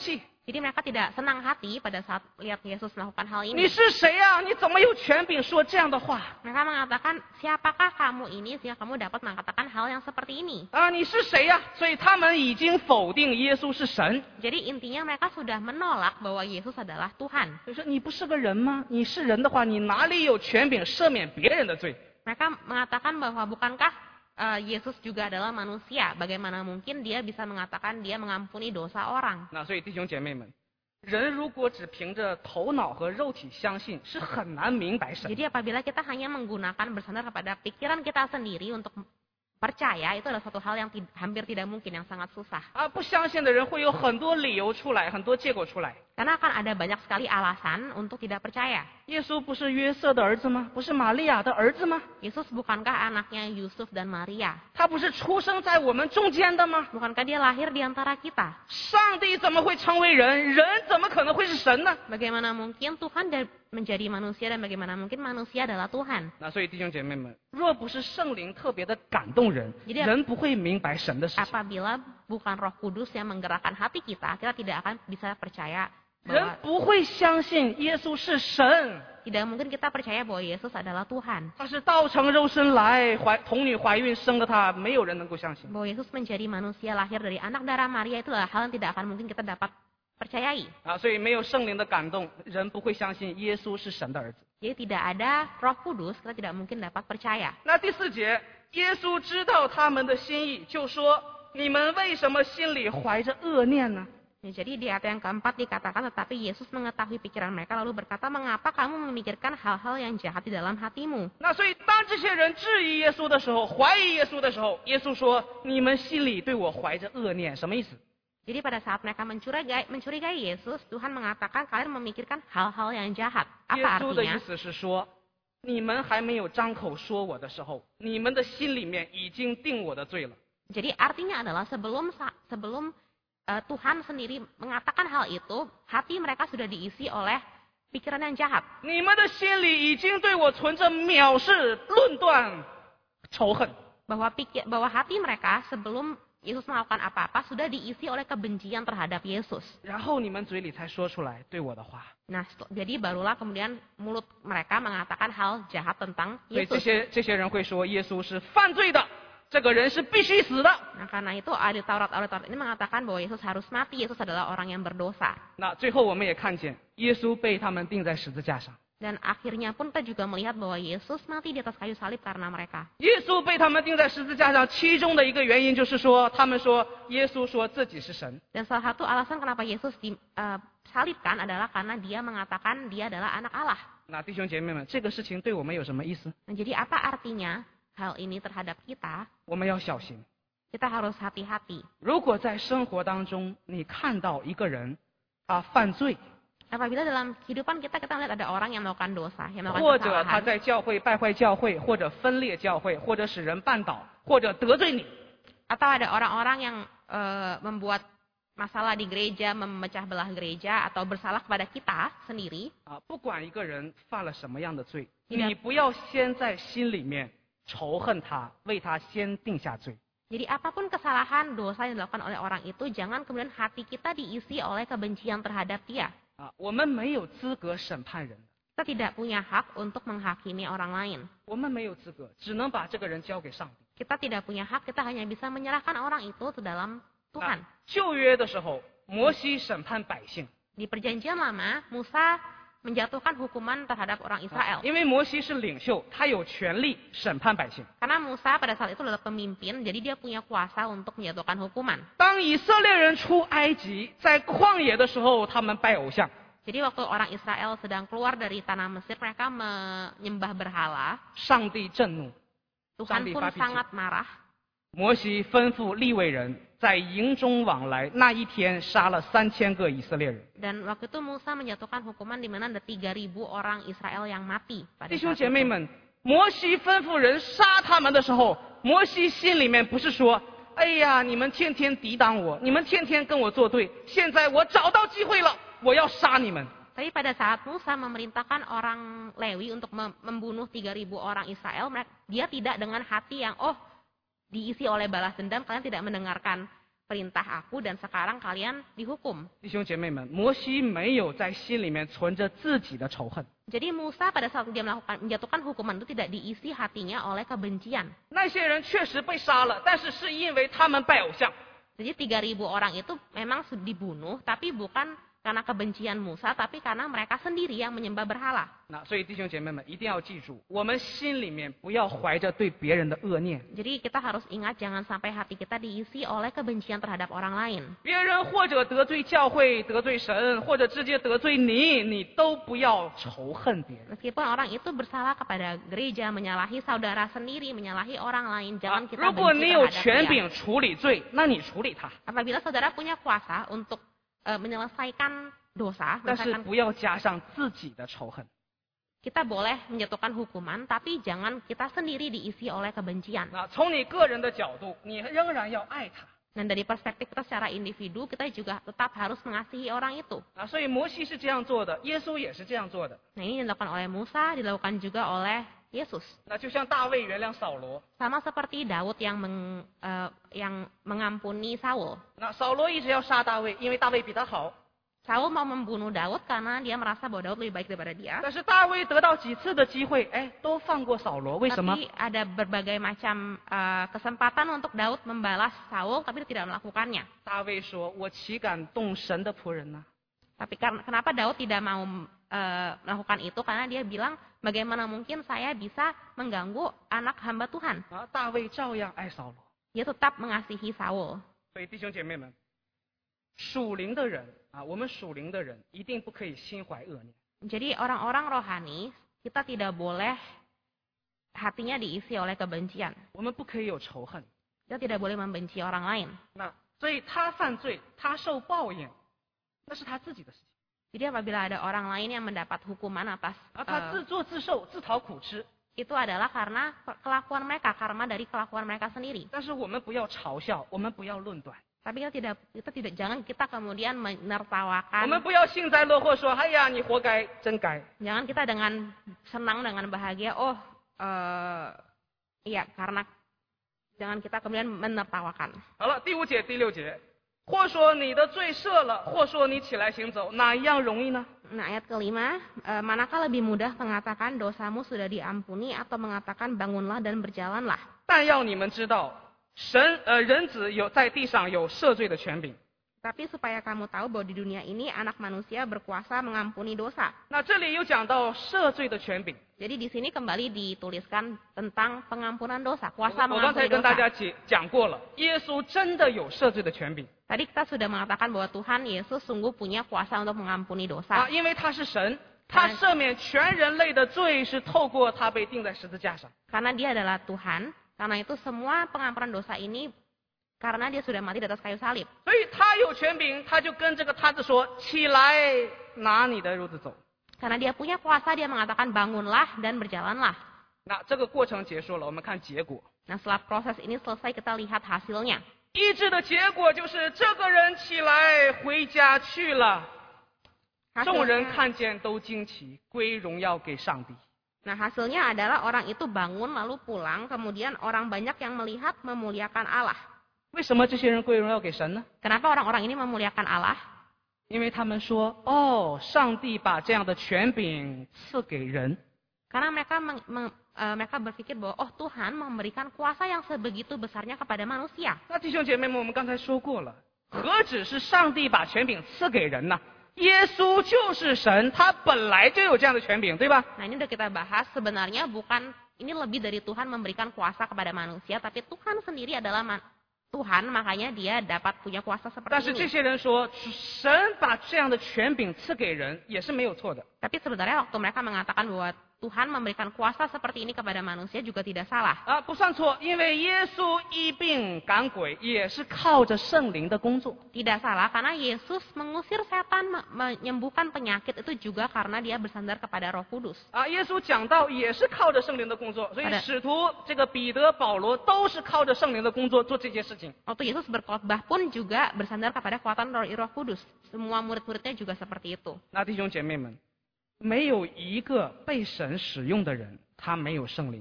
Jadi mereka tidak senang hati pada saat lihat Yesus melakukan hal 你 ini. 是谁呀、你怎么有权柄说这样的话 Mereka mengatakan, siapakah kamu ini sehingga kamu dapat mengatakan hal yang seperti ini? 啊？你是谁呀、所以他们已经否定耶稣是神。 Jadi intinya mereka sudah menolak bahwa Yesus adalah Tuhan. 就说你不是个人吗？你是人的话，你哪里有权柄赦免别人的罪？ Mereka mengatakan bahwa bukankah uh, Yesus juga adalah manusia? Bagaimana mungkin dia bisa mengatakan dia mengampuni dosa orang? 那所以弟兄姐妹们，人如果只凭着头脑和肉体相信，是很难明白神。 Jadi apabila kita hanya menggunakan bersandar kepada pikiran kita sendiri untuk percaya, itu adalah suatu hal yang tid- hampir tidak mungkin, yang sangat susah. 啊，不相信的人会有很多理由出来，很多借口出来。 Karena akan ada banyak sekali alasan untuk tidak percaya. 耶稣不是约瑟的儿子吗？不是玛利亚的儿子吗？ Yesus bukankah anaknya Yusuf dan Maria? 他不是出生在我们中间的吗？ Bukankah dia lahir di antara kita? 上帝怎么会成为人？人怎么可能会是神呢？ Bagaimana mungkin Tuhan da- menjadi manusia dan bagaimana mungkin manusia adalah Tuhan? 那所以弟兄姐妹们，若不是圣灵特别的感动人， Jadi- 人不会明白神的事情。 Apabila bukan Roh Kudus yang menggerakkan hati kita, kita tidak akan bisa percaya 人 bahwa 不会相信耶稣是神， tidak mungkin kita percaya bahwa Yesus adalah Tuhan. 他是道成肉身来，怀童女怀孕生了他，没有人能够相信。 Bahwa Yesus menjadi manusia lahir dari anak darah Maria, itu adalah hal yang tidak akan mungkin kita dapat percayai. 啊，所以没有圣灵的感动，人不会相信耶稣是神的儿子。 Jadi tidak ada Roh Kudus, kita tidak mungkin dapat percaya. 那第四节，耶稣知道他们的心意，就说：你们为什么心里怀着恶念呢？ Ya, jadi di ayat yang keempat dikatakan, tetapi Yesus mengetahui pikiran mereka lalu berkata, mengapa kamu memikirkan hal-hal yang jahat di dalam hatimu? 那所以，当这些人质疑耶稣的时候，怀疑耶稣的时候，耶稣说：你们心里对我怀着恶念，什么意思？ Jadi pada saat mereka mencurigai, mencurigai Yesus, Tuhan mengatakan kalian memikirkan hal-hal yang jahat. 耶 Apa 稣的意 artinya? 思是说，你们还没有张口说我的时候，你们的心里面已经定我的罪了。 Jadi artinya adalah sebelum sa- sebelum uh, Tuhan sendiri mengatakan hal itu, hati mereka sudah diisi oleh pikiran yang jahat. 你们的心里已经对我存着藐视、论断、仇恨。 Bahwa pikir, bahwa hati mereka sebelum Yesus melakukan apa-apa sudah diisi oleh kebencian terhadap Yesus. 然后你们嘴里才说出来对我的话。 Nah, setel- jadi barulah kemudian mulut mereka mengatakan hal jahat tentang 所以这 Yesus. 些这些人会说耶稣是犯罪的，这个人是必须死的。 Nah, karena itu ahli Taurat, ahli Taurat ini mengatakan bahwa Yesus harus mati. Yesus adalah orang yang berdosa. 那最后我们也看见耶稣被他们钉在十字架上， Dan akhirnya pun kita juga melihat bahwa Yesus mati di atas kayu salib karena mereka. 耶稣被他们钉在十字架上，其中的一个原因就是说，他们说耶稣说自己是神。 Dan salah satu alasan kenapa Yesus disalibkan adalah karena dia mengatakan dia adalah anak Allah. 那弟兄姐妹们，这个事情对我们有什么意思？ Nah, jadi apa artinya hal ini terhadap kita? 我们要小心。 Kita harus hati-hati. 如果在生活当中你看到一个人啊犯罪， Apabila dalam kehidupan kita kita melihat ada orang yang melakukan dosa, yang 或 melakukan 者他 kesalahan, 在教会败坏教会，或者分裂教会，或者使人绊倒，或者得罪你， atau ada orang-orang yang eh, membuat masalah di gereja, memecah belah gereja, atau bersalah kepada kita sendiri, 啊，不管一个人犯了什么样的罪， Tidak. 你不要先在心里面仇恨他，为他先定下罪。 jadi apapun kesalahan, dosa yang dilakukan oleh orang itu, jangan kemudian hati kita diisi oleh kebencian terhadap dia. 啊，我们没有资格审判人， Kita tidak punya hak untuk menghakimi orang lain. 我们没有资格，只能把这个人交给上帝。 Kita tidak punya hak, kita hanya bisa menyerahkan orang itu ke dalam Tuhan. 啊旧约的时候，摩西审判百姓， Di perjanjian lama, Musa menjatuhkan hukuman terhadap orang 啊 Israel. 因为摩西是领袖，他有权利审判百姓。 Karena Musa pada saat itu adalah pemimpin, jadi dia punya kuasa untuk menjatuhkan hukuman. 当以色列人出埃及，在旷野的时候，他们拜偶像。 Jadi waktu orang Israel sedang keluar dari tanah Mesir, mereka menyembah berhala. 上帝震怒， Tuhan Sambil pun babi sangat marah. 摩西吩咐利未人在营中往来，那一天杀了三千个以色列人。 Dan waktu itu Musa menjatuhkan hukuman di mana ada tiga ribu orang Israel yang mati. Pada 弟兄 saat 姐妹 itu. 们，摩西吩咐人杀他们的时候，摩西心里面不是说：“哎呀，你们天天抵挡我，你们天天跟我作对，现在我找到机会了，我要杀你们。” Tapi pada saat Musa memerintahkan orang Lewi untuk mem- membunuh tiga ribu orang Israel, mereka- dia tidak dengan hati yang, oh, diisi oleh balas dendam, kalian tidak mendengarkan perintah aku dan sekarang kalian dihukum. 弟兄姐妹们，摩西没有在心里面存着自己的仇恨， Jadi Musa pada saat dia melakukan menjatuhkan hukuman itu tidak diisi hatinya oleh kebencian. 那些人确实被杀了，但是是因为他们拜偶像。 Jadi tiga ribu orang itu memang dibunuh, tapi bukan karena kebencian Musa, tapi karena mereka sendiri yang menyembah berhala. 那所以弟兄姐妹们一定要记住，我们心里面不要怀着对别人的恶念。 Jadi kita harus ingat jangan sampai hati kita diisi oleh kebencian terhadap orang lain. 别人或者得罪教会、得罪神，或者直接得罪你，你都不要仇恨别人。 Meskipun orang itu bersalah kepada gereja, menyalahi saudara sendiri, menyalahi orang lain, jangan 啊 kita 如果 benci 你有 terhadap 权 dia. 柄处理罪，那你处理他， Apabila saudara punya kuasa untuk eh, menyelesaikan dosa, 但是 menyelesaikan 不要加上自己的仇恨。 kita boleh menjatuhkan hukuman, tapi jangan kita sendiri diisi oleh kebencian. 那从你个人的角度，你仍然要爱他。 Dan dari perspektif kita secara individu, kita juga tetap harus mengasihi orang itu. 啊，所以摩西是这样做的，耶稣也是这样做的。 Nah ini dilakukan oleh Musa, dilakukan juga oleh Yesus. 那就像大卫原谅扫罗， Sama seperti Daud yang meng, eh, yang mengampuni Saul. 那扫罗一直要杀大卫，因为大卫比他好。 Saul mau membunuh Daud karena dia merasa bahwa Daud lebih baik daripada dia. 但是大卫得到几次的机会，哎，都放过扫罗，为什么？ Tapi ada berbagai macam eh, kesempatan untuk Daud membalas Saul, tapi dia tidak melakukannya. 大卫说：“我岂敢动神的仆人呢？ Tapi karena kenapa Daud tidak mau eh, melakukan itu? Karena dia bilang, bagaimana mungkin saya bisa mengganggu anak hamba Tuhan? 啊，大卫照样爱扫罗。 Dia tetap mengasihi Saul. 所以弟兄姐妹们，属灵的人啊，我们属灵的人一定不可以心怀恶念。 Jadi orang-orang rohani, kita tidak boleh hatinya diisi oleh kebencian. 我们不可以有仇恨。 Kita tidak boleh membenci orang lain. 那所以他犯罪，他受报应，那是他自己的事情。 Jadi apabila ada orang lain yang mendapat hukuman atas 啊， eh, 他自作自受，自讨苦吃。 itu adalah karena kelakuan mereka, karma dari kelakuan mereka sendiri. 但是我们不要嘲笑，我们不要论断， Tapi kita tidak, kita tidak, jangan kita kemudian 我们 menertawakan. 不要幸灾乐祸说：“哎呀，你活该，真该。” Jangan kita dengan senang, dengan bahagia, oh, eh, iya karena jangan kita kemudian menertawakan. 好了，第五节、第六节，或说你的罪赦了，或说你起来行走，哪一样容易呢？ Nah ayat kelima, eh, manakah lebih mudah mengatakan dosamu sudah diampuni atau mengatakan bangunlah dan berjalanlah? 但要你们知道，神呃人子有在地上有赦罪的权柄。 Tapi supaya kamu tahu bahwa di dunia ini anak manusia berkuasa mengampuni dosa. 那这里有讲到赦罪的权柄。 Jadi di sini kembali dituliskan tentang pengampunan dosa, 我 kuasa 我刚才 mengampuni 跟大 dosa. 家解讲过了，耶稣真的有赦罪的权柄 Tadi kita sudah mengatakan bahwa Tuhan Yesus sungguh punya kuasa untuk mengampuni 啊， dosa. 因为他是神，他赦免全人类的罪是透过他被钉在十字架上。 Karena dia adalah Tuhan, karena itu semua pengampunan dosa ini karena dia sudah mati di atas kayu salib. 所以他有权柄，他就跟这个他子说：“起来，拿你的褥子走。” Karena dia punya kuasa, dia mengatakan bangunlah dan berjalanlah. 那这个过程结束了，我们看结果。 Nah setelah proses ini selesai kita lihat hasilnya. 医治的结果就是这个人起来回家去了，众人 Hasilnya, 看见都惊奇，归荣耀给上帝。 nah hasilnya adalah orang itu bangun lalu pulang, kemudian orang banyak yang melihat memuliakan Allah. 为什么这些人归荣耀给神呢？ Kenapa orang-orang ini memuliakan Allah? 因为他们说：“哦，上帝把这样的权柄赐给人。” Karena mereka meng, meng, eh, mereka berpikir bahwa oh Tuhan memberikan kuasa yang sebegitu besarnya kepada manusia. 那弟兄姐妹们，我们刚才说过了，何止是上帝把权柄赐给人呢？耶稣就是神，他本来就有这样的权柄，对吧？ Nah ini udah kita bahas, sebenarnya bukan ini lebih dari Tuhan memberikan kuasa kepada manusia, tapi Tuhan sendiri adalah man, Tuhan, makanya dia dapat punya kuasa 但 seperti 是这 ini. 些人说，神把这样的权柄赐给人，也是没有错的。 Tapi sebenarnya waktu mereka mengatakan bahwa Tuhan memberikan kuasa seperti ini kepada manusia juga tidak salah. 啊，不算错，因为耶稣医病赶鬼也是靠着圣灵的工作。 Tidak salah, karena Yesus mengusir setan, me- menyembuhkan penyakit itu juga karena dia bersandar kepada Roh Kudus. 啊，耶稣讲道也是靠着圣灵的工作，所以好的使徒这个彼得、保罗都是靠着圣灵的工作做这些事情。 Waktu Yesus berkhotbah pun juga bersandar kepada kekuatan Roh Roh Kudus. Semua murid-muridnya juga seperti itu. 那弟兄姐妹们，没有一个被神使用的人，他没有圣灵。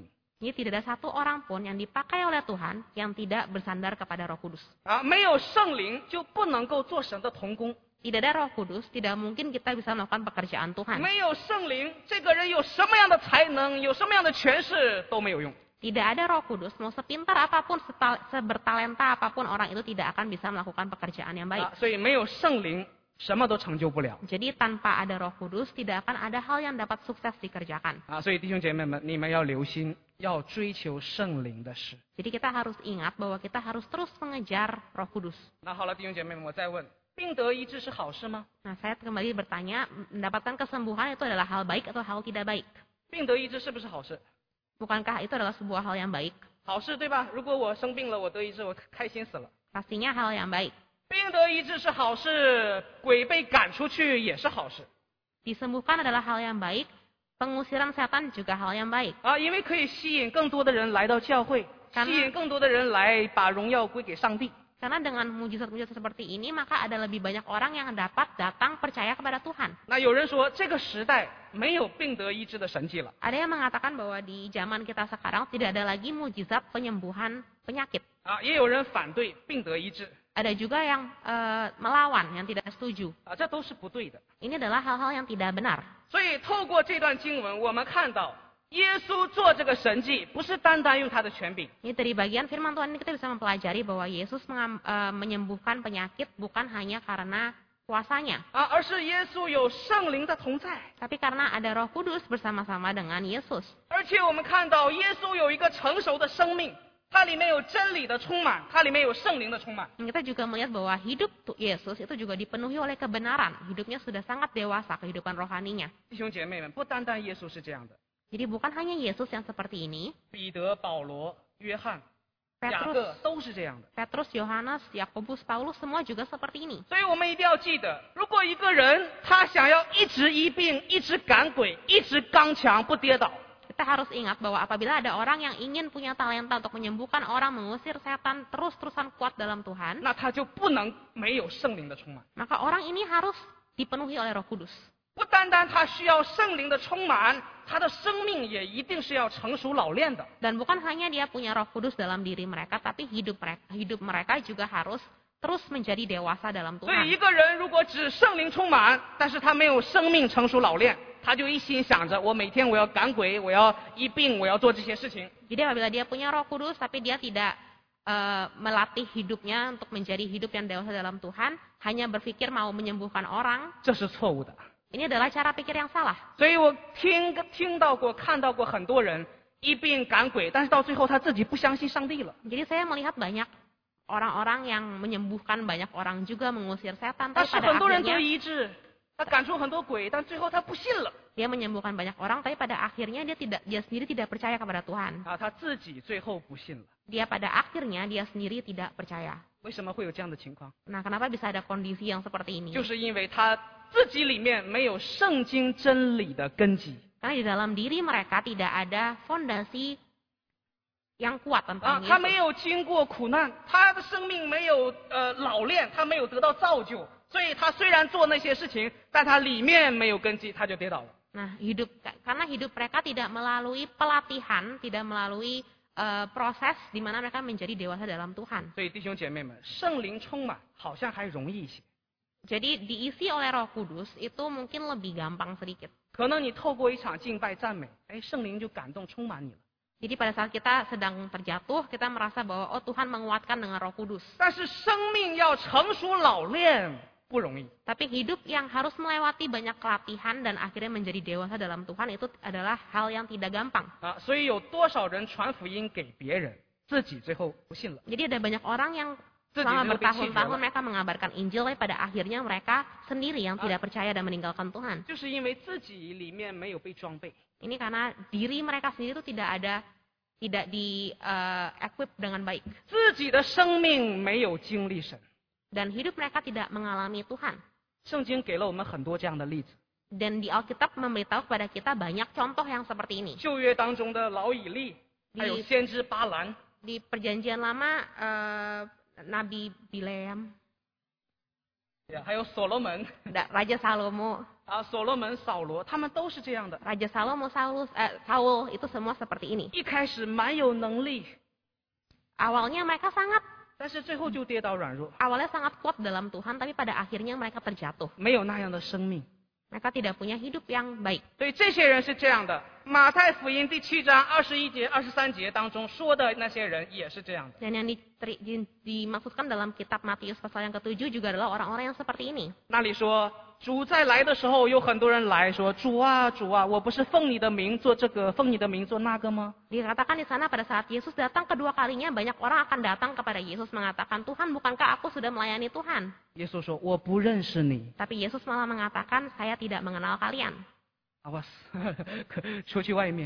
Jadi tidak ada satu orang pun yang dipakai oleh Tuhan yang tidak bersandar kepada Roh Kudus. 啊，没有圣灵就不能够做神的童工， Tidak ada Roh Kudus, tidak mungkin kita bisa melakukan pekerjaan Tuhan. 没有圣灵，这个人有什么样的才能，有什么样的权势都没有用。 Tidak ada Roh Kudus, mau sepintar apapun, setal- sebertalenta apapun orang itu tidak akan bisa melakukan pekerjaan yang baik. 啊，所以没有圣灵，什么都成就不了。 Jadi tanpa ada Roh Kudus, tidak akan ada hal yang dapat sukses dikerjakan. 啊，所以弟兄姐妹们，你们要留心，要追求圣灵的事。 Jadi kita harus ingat bahwa kita harus terus mengejar Roh Kudus. 那好了，弟兄姐妹们，我再问，病得医治是好事吗？ Nah, saya kembali bertanya, mendapatkan kesembuhan itu adalah hal baik atau hal tidak baik? 病得医治是不是好事？ Bukankah itu adalah sebuah hal yang baik? 好事对吧？如果我生病了，我得医治，我开心死了。 Pastinya hal yang baik. 病得医治是好事，鬼被赶出去也是好事 Disembuhkan adalah hal yang baik, pengusiran setan juga hal yang baik. 啊，因为可以吸引更多的人来到教会， Karena- 吸引更多的人来把荣耀归给上帝。 Karena dengan mujizat-mujizat seperti ini, maka ada lebih banyak orang yang dapat datang percaya kepada Tuhan. 那有人说，这个时代没有病得医治的神迹了 Ada yang mengatakan bahwa di zaman kita sekarang tidak ada lagi mujizat penyembuhan penyakit. 啊，也有人反对病得医治 Ada juga yang eh, melawan, yang tidak setuju. 啊，这都是不对的。 Ini adalah hal-hal yang tidak benar. 所以透过这段经文，我们看到耶稣做这个神迹，不是单单用他的权柄， Ini dari bagian firman Tuhan ini kita bisa mempelajari bahwa Yesus mengam- eh, menyembuhkan penyakit bukan hanya karena kuasanya, 啊，而是耶稣有圣灵的同在。 tapi karena ada Roh Kudus bersama-sama dengan Yesus. 而且我们看到耶稣有一个成熟的生命，它里面有真理的充满，它里面有圣灵的充满。 Dan kita juga melihat bahwa hidup tu- Yesus itu juga dipenuhi oleh kebenaran. Hidupnya sudah sangat dewasa, kehidupan rohaninya. 弟兄姐妹们，不单单耶稣是这样的， Jadi bukan hanya Yesus yang seperti ini, 彼得、保罗、约翰、雅 Petrus, 各都是这样的。 Petrus, Yohanes, Yakobus, Paulus semua juga seperti ini. 所以我们一定要记得，如果一个人他想要一直医病、一直赶鬼、一直刚强不跌倒， Kita harus ingat bahwa apabila ada orang yang ingin punya talenta untuk menyembuhkan orang, mengusir setan, terus-terusan kuat dalam Tuhan, 那他就不能没有圣灵的充满。 maka orang ini harus dipenuhi oleh Roh Kudus. 不单单他需要圣灵的充满，他的生命也一定是要成熟老练的。 Dan bukan hanya dia punya Roh Kudus dalam diri mereka, tapi hidup mereka, hidup mereka juga harus terus menjadi dewasa dalam 所以 Tuhan. 一个人如果只圣灵充满，但是他没有生命成熟老练，他就一心想着我每天我要赶鬼，我要医病，我要做这些事情。 Jadi apabila dia punya Roh Kudus tapi dia tidak eh, melatih hidupnya untuk menjadi hidup yang dewasa dalam Tuhan, hanya berpikir mau menyembuhkan orang, 这是错误的。 ini adalah cara pikir yang salah. 所以我听听到过、看到过很多人医病赶鬼，但是到最后他自己不相信上帝了。 Jadi saya melihat banyak orang-orang yang menyembuhkan banyak orang juga mengusir setan, 但 tapi 是 pada 很多人得 akhirnya 医治，他赶出很多鬼，但最后他不信了 dia menyembuhkan banyak orang, tapi pada akhirnya dia tidak dia sendiri tidak percaya kepada Tuhan. 啊，他自己最后不信了。 Dia pada akhirnya dia sendiri tidak percaya. 为什么会有这样的情况？ Nah, kenapa bisa ada kondisi yang seperti ini? 就是因为他自己里面没有圣经真理的根基 Karena di dalam diri mereka tidak ada fondasi yang kuat 啊 tentang， 他没 Yesus. 有经过苦难，他的生命没有呃老练，他没有得到造就，所以他虽然做那些事情，但他里面没有根基，他就跌倒了。 Nah, hidup karena hidup mereka tidak melalui pelatihan, tidak melalui eh, proses di mana mereka menjadi dewasa dalam Tuhan. 所以弟兄姐妹们，圣灵充满好像还容易一些， Jadi diisi oleh Roh Kudus itu mungkin lebih gampang sedikit. 可能你透过一场敬拜赞美，哎，圣灵就感动充满你了。 Jadi pada saat kita sedang terjatuh, kita merasa bahwa oh Tuhan menguatkan dengan Roh Kudus. 但是生命要成熟老练不容易。 Tapi hidup yang harus melewati banyak pelatihan dan akhirnya menjadi dewasa dalam Tuhan itu adalah hal yang tidak gampang. 啊，所以有多少人传福音给别人，自己最后不信了。 Jadi ada banyak orang yang Itu selama lebih bertahun-tahun kecil, mereka mengabarkan Injil, tapi pada akhirnya mereka sendiri yang Ah. tidak percaya dan meninggalkan Tuhan. 就是因为自己里面没有被装备， Ini karena diri mereka sendiri itu tidak ada, tidak di eh, equip dengan baik. 自己的生命没有经历神。 Dan hidup mereka tidak mengalami Tuhan. 圣经给了我们很多这样的例子。 Dan di Alkitab memberitahu kepada kita banyak contoh yang seperti ini. 旧约当中的老以利，还有 Di, 先知巴兰， di perjanjian lama, eh, Nabi Bileam, 呀，还有所罗门 ada Raja Salomo, 啊，所罗门、扫罗，他们都是这样的。 Raja Salomo, Saulus, eh, Saul, itu semua seperti ini. 一开始蛮有能力， Awalnya mereka sangat, 但是最后就跌倒软弱， awalnya sangat kuat dalam Tuhan, tapi pada akhirnya mereka terjatuh. 没有那样的生命。 Mereka tidak punya hidup yang baik. 对，这些人是这样的。马太福音第七章二十一节、二十三节当中说的那些人也是这样的。 Dan yang diteri- di- dimaksudkan dalam kitab Matius pasal yang ketujuh juga adalah orang-orang yang seperti ini. 那里说，主在来的时候，有很多人来说：“主啊，主啊，我不是奉你的名做这个，奉你的名做那个吗？” Dikatakan di sana pada saat Yesus datang kedua kalinya, banyak orang akan datang kepada Yesus mengatakan, Tuhan, bukankah aku sudah melayani Tuhan? 耶稣说：“我不认识你。 Tapi Yesus malah mengatakan, saya tidak mengenal kalian. Awas，出去外面。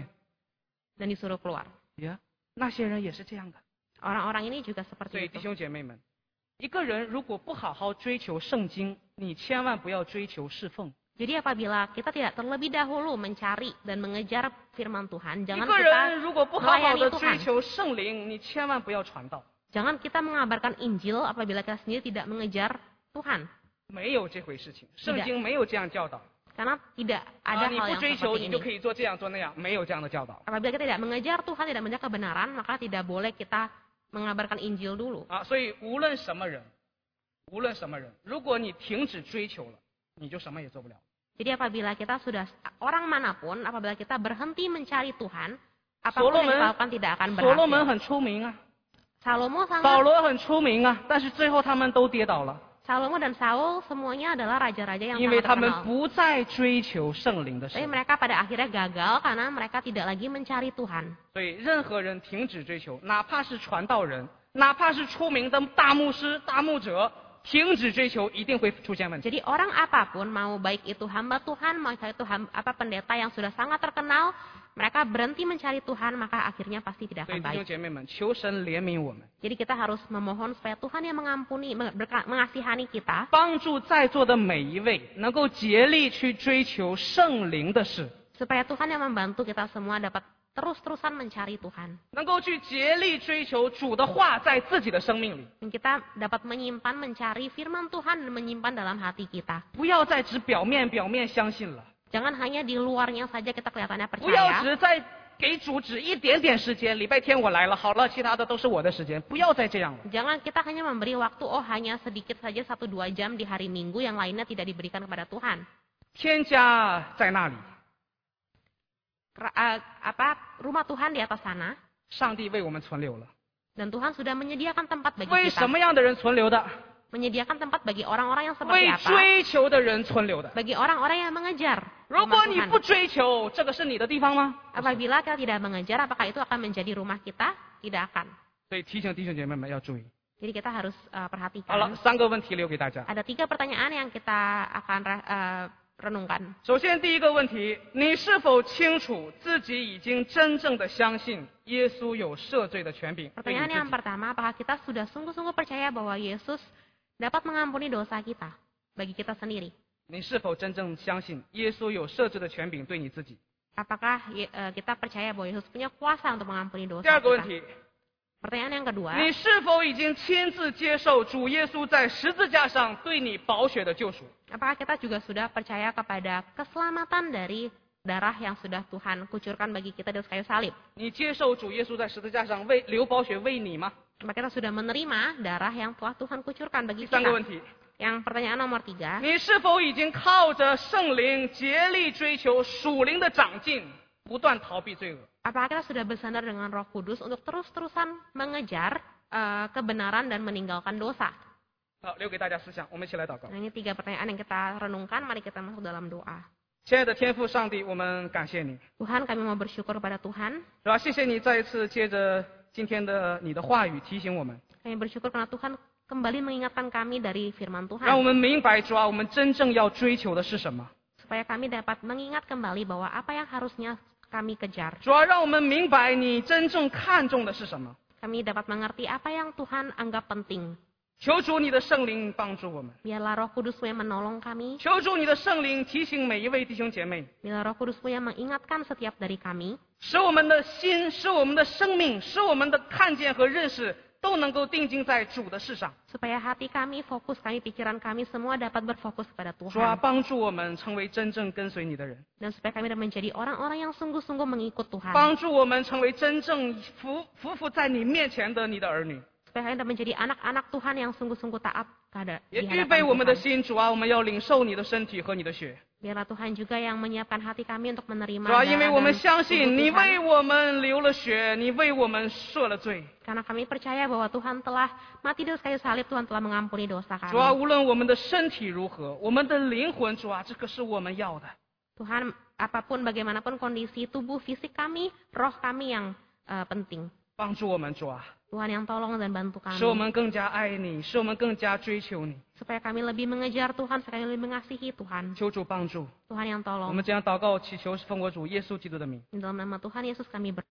Dan disuruh keluar. 呀，那些人也是这样的。 Orang-orang ini juga 所 seperti 以弟 itu. 兄姐妹们，一个人如果不好好追求圣经，你千万不要追求侍奉。 Jadi apabila kita tidak terlebih dahulu mencari dan mengejar firman Tuhan, 一 jangan 个 kita 人如果不好好 melayani 的追 Tuhan. 求圣灵，你千万不要传道。 Jangan kita mengabarkan Injil apabila kita sendiri tidak mengejar Tuhan. 没有这回事情，圣经没有这样教导。 Karena tidak 啊， ada 你 hal 不 yang 追求， seperti 你就 ini. 可以做这样做那样，没有这样的教导。 Apabila kita tidak mengejar Tuhan, tidak mengejar kebenaran, maka tidak boleh kita mengabarkan Injil dulu. 啊，所以无论什么人，无论什么人，如果你停止追求了，你就什么也做不了。 Jadi apabila kita sudah, orang manapun, apabila kita berhenti mencari Tuhan, 所 apapun 罗 yang 门 dilakukan tidak akan 所罗门 berhasil. 很出名啊， Salomo 保 sangat, 罗很出名啊，但是最后他们都跌倒了， Salomo dan Saul semuanya adalah raja-raja yang 因为 sangat 他们 terkenal. 不再追求圣灵的 Tapi 事。 mereka pada akhirnya gagal karena mereka tidak lagi mencari Tuhan. 所以任何人停止追求，哪怕是传道人，哪怕是出名的大牧师、大牧者，停止追求一定会出现问题。 Jadi orang apapun, mau baik itu hamba Tuhan, mau itu ham- apa pendeta yang sudah sangat terkenal, mereka berhenti mencari Tuhan, maka akhirnya pasti tidak 所以 akan 弟兄 baik. 姐妹们，求神怜悯我们， Jadi kita harus memohon supaya Tuhan yang mengampuni, berka- mengasihani kita, 帮助在座的每一位能够竭力去追求圣灵的事， supaya Tuhan yang membantu kita semua dapat terus-terusan mencari Tuhan. 能够去竭力追求主的话在自己的生命里， Dan kita dapat menyimpan, mencari firman Tuhan dan menyimpan dalam hati kita. 不要再只表面表面相信了， Jangan hanya di luarnya saja kita kelihatannya 不要 percaya. 只在给主只一点点时间，礼拜天我来了，好了，其他的都是我的时间，不要再这样了。 Jangan kita hanya memberi waktu, oh hanya sedikit saja satu dua jam di hari Minggu, yang lainnya tidak diberikan kepada Tuhan. 天家在那里， Ra- eh, apa rumah Tuhan di atas sana, 上帝为我们存留了。 dan Tuhan sudah menyediakan tempat bagi 为 kita. 什么样的人存留的？ Menyediakan tempat bagi orang-orang yang seperti 为 apa? 追求的人存留的。 Bagi orang-orang yang mengejar 如 rumah 果你 Tuhan. 不追求，这个是你的地方吗？ Apabila kita tidak mengejar, apakah itu akan menjadi rumah kita? Tidak akan. 所以提醒弟兄姐妹们要注意。 Jadi kita harus uh, 好 perhatikan. 了，三个问题留给大家。 Ada tiga pertanyaan yang kita akan uh, renungkan. 首先，第一个问题，你是否清楚自己已经真正的相信耶稣有赦罪的权柄？对你 Pertanyaan 自 yang 己 pertama, apakah kita sudah sungguh-sungguh percaya bahwa Yesus dapat mengampuni dosa kita bagi kita sendiri? 你是否真正相信耶稣有赦罪的权柄对你自己？ Apakah ye- uh, kita percaya bahwa Yesus punya kuasa untuk mengampuni 第 dosa 二个问 kita? 题， Pertanyaan yang kedua, 你是否已经亲自接受主耶稣在十字架上对你宝血的救赎？ apakah kita juga sudah percaya kepada keselamatan dari darah yang sudah Tuhan kucurkan bagi kita di atas kayu salib? 你接受主耶稣在十字架上为流宝血为你吗？ Apakah kita sudah menerima darah yang telah Tuhan kucurkan 第 bagi 三个 kita? 问题， Yang pertanyaan nomor tiga, 你是否已经靠着圣灵竭力追求属灵的长进，不断逃避罪恶？ apakah kita sudah bersandar dengan Roh Kudus untuk terus-terusan mengejar eh, kebenaran dan meninggalkan dosa? 好，留给大家思想，我们一起来祷告。 Nah, ini tiga pertanyaan yang kita renungkan. Mari kita masuk dalam doa. 亲爱的天父上帝，我们感谢你， Tuhan, kami mau bersyukur kepada Tuhan. 是吧？谢谢你再一次借着今天的你的话语提醒我们， Kami bersyukur karena Tuhan kembali mengingatkan kami dari firman 让我 Tuhan. 们明白主啊，我们真正要追求的是什么。 Supaya kami dapat mengingat kembali bahwa apa yang harusnya kami kejar. 主啊，让我们明白你真正看重的是什么。 Kami dapat mengerti apa yang Tuhan anggap penting. 求主你的圣灵帮助我们， Biarlah Roh Kudus-Mu yang menolong kami. 求主你的圣灵提醒每一位弟兄姐妹， Biarlah Roh Kudus-Mu yang mengingatkan setiap dari kami. 使我们的心，使我们的生命，使我们的看见和认识都能够定睛在主的事上。 supaya hati kami, fokus kami, pikiran kami semua dapat berfokus kepada 主啊， Tuhan. 帮助我们成为真正跟随你的人， Dan supaya kami dapat menjadi orang-orang yang sungguh-sungguh mengikut Tuhan. 帮助我们成为真正服服服在你面前的你的儿女， Supaya kami dapat menjadi anak-anak Tuhan yang sungguh-sungguh taat kepada 也 di 预备 hadapan 我们的 Tuhan. 心。主啊，我们要领受你的身体和你的血。 Biarlah Tuhan juga yang menyiapkan hati kami untuk menerima 主啊，因为 darah 我们 dan 相 tubuh 信你 Tuhan. 为我们流了血，你为我们赦了罪。 Karena kami percaya bahwa Tuhan telah mati di kayu salib, Tuhan telah mengampuni dosa 主啊， kami. 无论我们的身体如何，我们的灵魂，主啊，这个是我们要的。 Tuhan, apapun bagaimanapun kondisi tubuh fisik kami, roh kami yang eh, penting. 帮助我们，主啊， Tuhan yang tolong dan bantu 使我 kami. 们更加爱你，使我们更加追求你。 Supaya kami lebih mengejar Tuhan, supaya kami lebih mengasihi Tuhan. 求主帮助， Tuhan yang 我 tolong. 们这样祷告祈求，是奉我主耶稣基督的名。 Di dalam nama Tuhan Yesus kami berdoa.